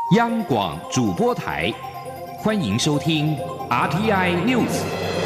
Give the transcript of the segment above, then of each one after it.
央广主播台，欢迎收听 RTI News。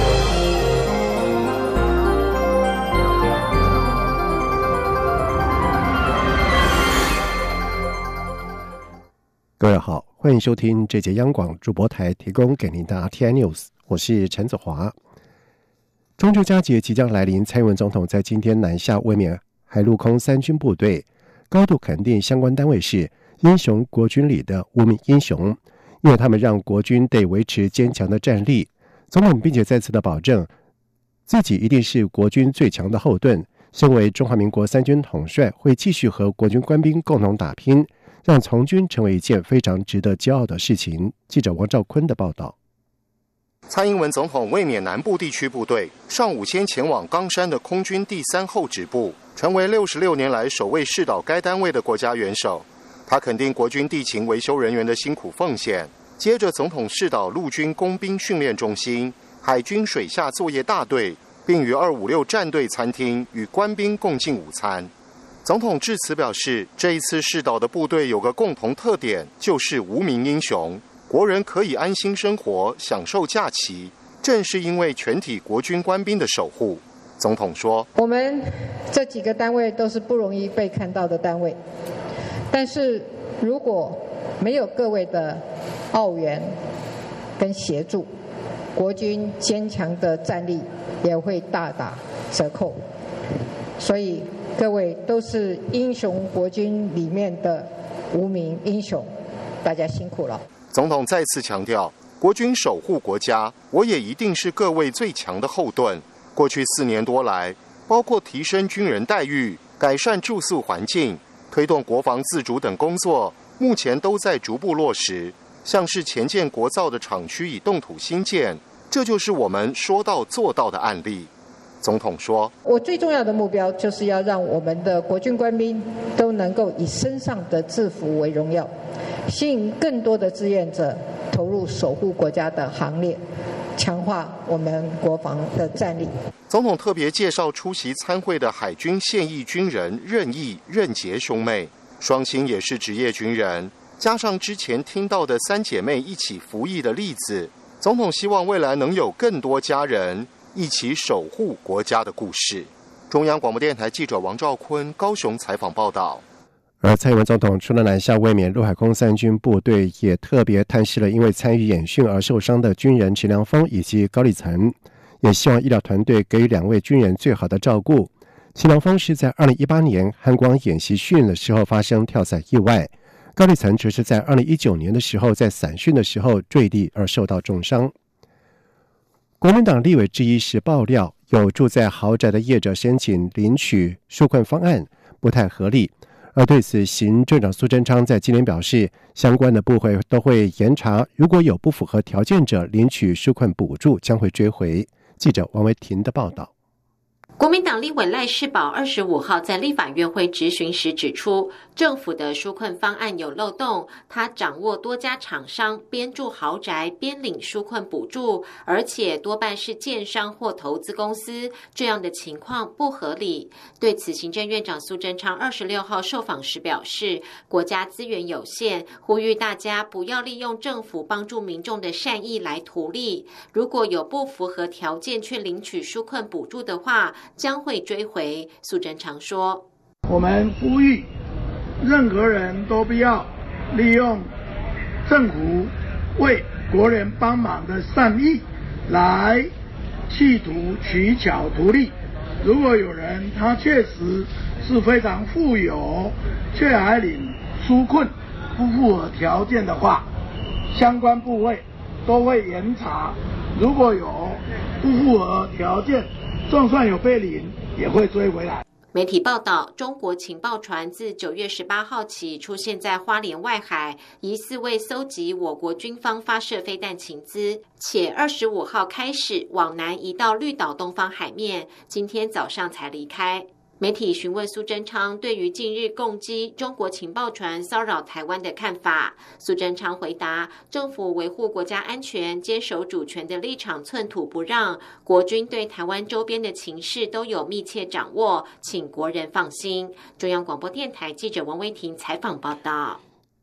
各位好，欢迎收听这节央广主播台提供给您的 RTI News， 我是陈子华。中秋佳节即将来临，蔡英文总统在今天南下慰勉海陆空三军部队，高度肯定相关单位是英雄国军里的无名英雄，因为他们让国军得维持坚强的战力。总统并且再次的保证，自己一定是国军最强的后盾，身为中华民国三军统帅，会继续和国军官兵共同打拼，让从军成为一件非常值得骄傲的事情。记者王兆坤的报道。 蔡英文总统慰勉南部地区部队，上午先前往冈山的空军第3后指部，成为66年来首位视导该单位的国家元首。他肯定国军地勤维修人员的辛苦奉献。接着，总统视导陆军工兵训练中心、海军水下作业大队，并于256战队餐厅与官兵共进午餐。总统致辞表示，这一次视导的部队有个共同特点，就是无名英雄。国人可以安心生活，享受假期，正是因为全体国军官兵的守护。总统说， 我们这几个单位都是不容易被看到的单位，但是如果没有各位的奥援跟协助，国军坚强的战力也会大打折扣。所以各位都是英雄国军里面的无名英雄，大家辛苦了。 总统再次强调，国军守护国家，我也一定是各位最强的后盾。过去4年多来，包括提升军人待遇、改善住宿环境、推动国防自主等工作，目前都在逐步落实。像是前建国造的厂区已动土兴建，这就是我们说到做到的案例。总统说， 我最重要的目标就是要让我们的国军官兵都能够以身上的制服为荣耀，吸引更多的志愿者投入守护国家的行列，强化我们国防的战力。 总统特别介绍出席参会的海军现役军人任义、任杰兄妹，双亲也是职业军人，加上之前听到的3姐妹一起服役的例子，总统希望未来能有更多家人一起守护国家的故事。中央广播电台记者王兆坤高雄采访报道。 而蔡英文总统除了南下慰勉陆海空三军部队，也特别探视了因为参与演训而受伤的军人陈良峰以及高立成，也希望医疗团队给予2位军人最好的照顾。陈良峰是在2018年汉光演习训的时候发生跳伞意外，高立成则是在2019年的时候在伞训的时候坠地而受到重伤。国民党立委之一是爆料，有住在豪宅的业者申请领取纾困方案不太合理。而对此，行政长苏贞昌在今年表示，相关的部会都会严查，如果有不符合条件者领取纾困补助，将会追回。记者王维婷的报道。 国民党立委赖士葆25号在立法院会质询时指出，政府的纾困方案有漏洞，他掌握多家厂商边住豪宅边领纾困补助，而且多半是建商或投资公司，这样的情况不合理。对此，行政院长苏贞昌26号受访时表示，国家资源有限，呼吁大家不要利用政府帮助民众的善意来图利，如果有不符合条件却领取纾困补助的话，将会追回。苏贞昌说， 我们呼吁任何人都不要利用政府为国人帮忙的善意来企图取巧图利。如果有人他确实是非常富有，却还领纾困不符合条件的话，相关部会都会严查，如果有不符合条件，就算有被领，也会追回来。 媒体报道，中国情报船自9月18号起出现在花莲外海，疑似为搜集我国军方发射飞弹情资，且25号开始往南移到绿岛东方海面，今天早上才离开。媒体询问苏贞昌对于近日共击中国情报船骚扰台湾的看法，苏贞昌回答，政府维护国家安全、坚守主权的立场寸土不让，国军对台湾周边的情势都有密切掌握，请国人放心。中央广播电台记者王威婷采访报道。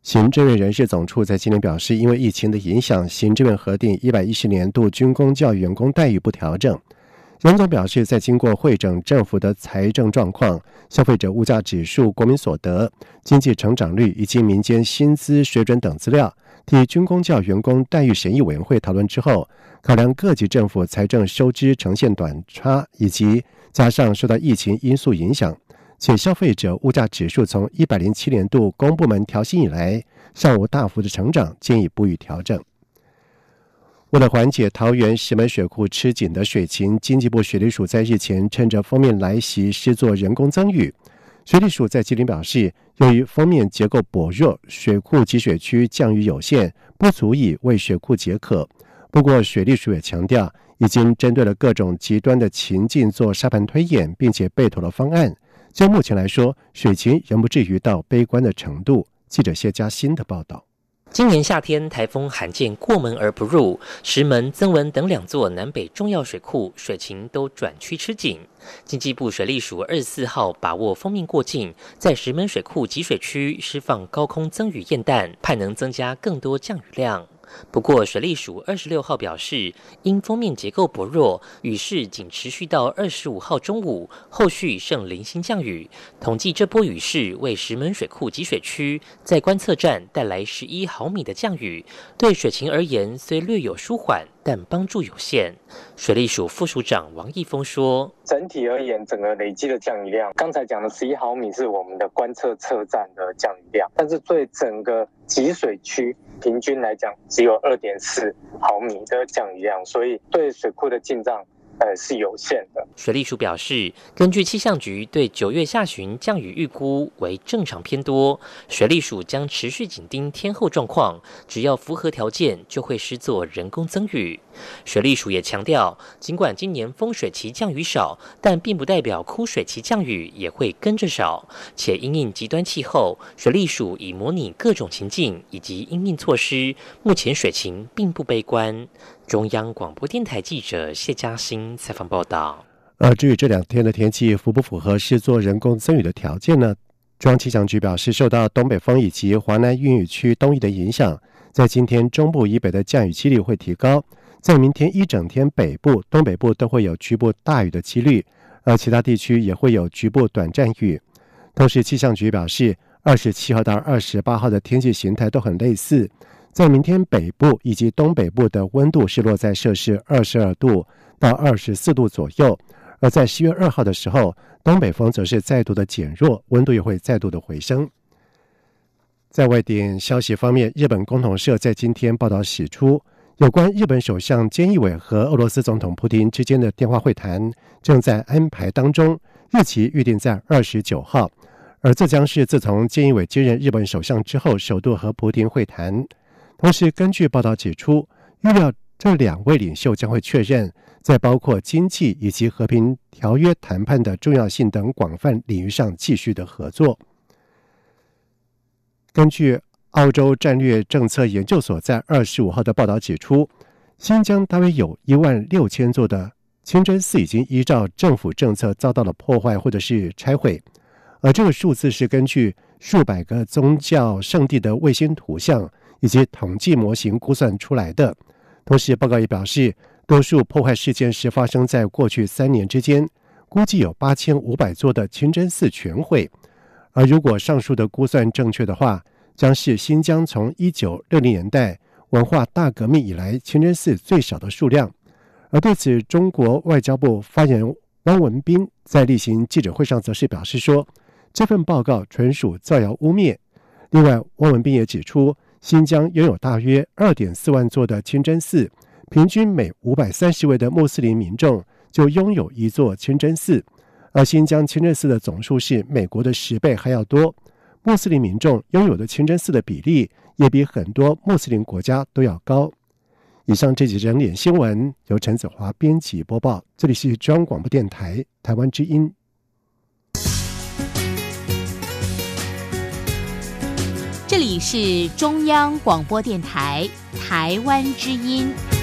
行政院人事总处在今天表示，因为疫情的影响，行政院核定110年度军公教员工待遇不调整。杨总表示，在经过会诊政府的财政状况、消费者物价指数、国民所得、经济成长率以及民间薪资水准等资料，替军公教员工待遇审议委员会讨论之后，考量各级政府财政收支呈现短差，以及加上受到疫情因素影响，且消费者物价指数从107年度公部门调薪以来尚无大幅的成长，建议不予调整。为了缓解桃园石门水库吃紧的水情，经济部水利署在日前趁着锋面来袭施作人工增雨。水利署在今天表示，由于锋面结构薄弱，水库集水区降雨有限，不足以为水库解渴。不过水利署也强调，已经针对了各种极端的情境做沙盘推演，并且备妥了方案。就目前来说，水情仍不至于到悲观的程度。记者谢嘉欣的报道。 今年夏天，台风罕见过门而不入，石门、曾文等2座南北重要水库水情都转趋吃紧。经济部水利署24号把握锋面过境，在石门水库集水区释放高空增雨焰弹，盼能增加更多降雨量。不过水利署26号表示，因锋面结构薄弱，雨势仅持续到25号中午，后续剩零星降雨。统计这波雨势为石门水库集水区在观测站带来11毫米的降雨，对水情而言虽略有舒缓，但帮助有限。水利署副署长王义峰说， 整体而言，整个累积的降雨量，刚才讲的11毫米是我们的观测测站的降雨量，但是对整个集水区平均来讲只有2.4毫米的降雨量，所以对水库的进账是有限的。 水利署表示，根据气象局对9月下旬降雨预估为正常偏多，水利署将持续紧盯天候状况，只要符合条件就会施作人工增雨。水利署也强调，尽管今年丰水期降雨少，但并不代表枯水期降雨也会跟着少，且因应极端气候，水利署已模拟各种情境以及因应措施，目前水情并不悲观。中央广播电台记者谢嘉欣采访报道。 至于这2天的天气符不符合施作人工增雨的条件呢？中央气象局表示，受到东北风以及华南云雨区东移的影响，在今天中部以北的降雨几率会提高，在明天一整天北部、东北部都会有局部大雨的几率，而其他地区也会有局部短暂雨。同时气象局表示，27号到28号的天气形态都很类似，在明天北部以及东北部的温度是落在摄氏22度到24度左右，而在10月2号的时候，东北风则是再度的减弱，温度也会再度的回升。在外电消息方面，日本共同社在今天报道指出，有关日本首相菅义伟和俄罗斯总统普丁之间的电话会谈正在安排当中，日期预定在29号，而这将是自从菅义伟接任日本首相之后首度和普丁会谈。同时根据报道指出，预料这2位领袖将会确认在包括经济以及和平条约谈判的重要性等广泛领域上继续的合作。根据澳洲战略政策研究所在25号的报道指出，新疆大约有16000座的清真寺已经依照政府政策遭到了破坏或者是拆毁，而这个数字是根据数百个宗教圣地的卫星图像以及统计模型估算出来的。同时报告也表示，多数破坏事件是发生在过去3年之间，估计有8500座的清真寺全毁。而如果上述的估算正确的话，将是新疆从1960年代文化大革命以来清真寺最少的数量。而对此，中国外交部发言人汪文斌在例行记者会上则是表示说，这份报告纯属造谣污蔑。另外，汪文斌也指出，新疆拥有大约 2.4 万座的清真寺，平均每530位的穆斯林民众就拥有1座清真寺，而新疆清真寺的总数是美国的10倍还要多，穆斯林民众拥有的清真寺的比例也比很多穆斯林国家都要高。以上这几整点新闻由陈子华编辑播报，这里是中央广播电台台湾之音。 这里是中央广播电台台湾之音。